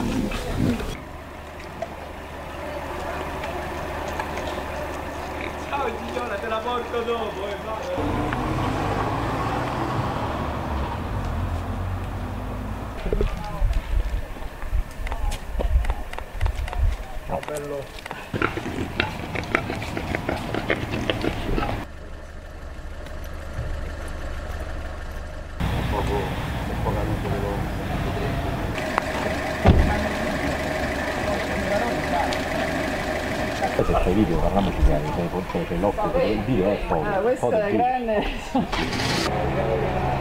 Ciao Gigliola, te la porto dopo, Oh, bello. Un po' caduto veloce. Poi se c'è video parliamoci chiaro, c'è l'occhio, il video è foto. Questo è grande.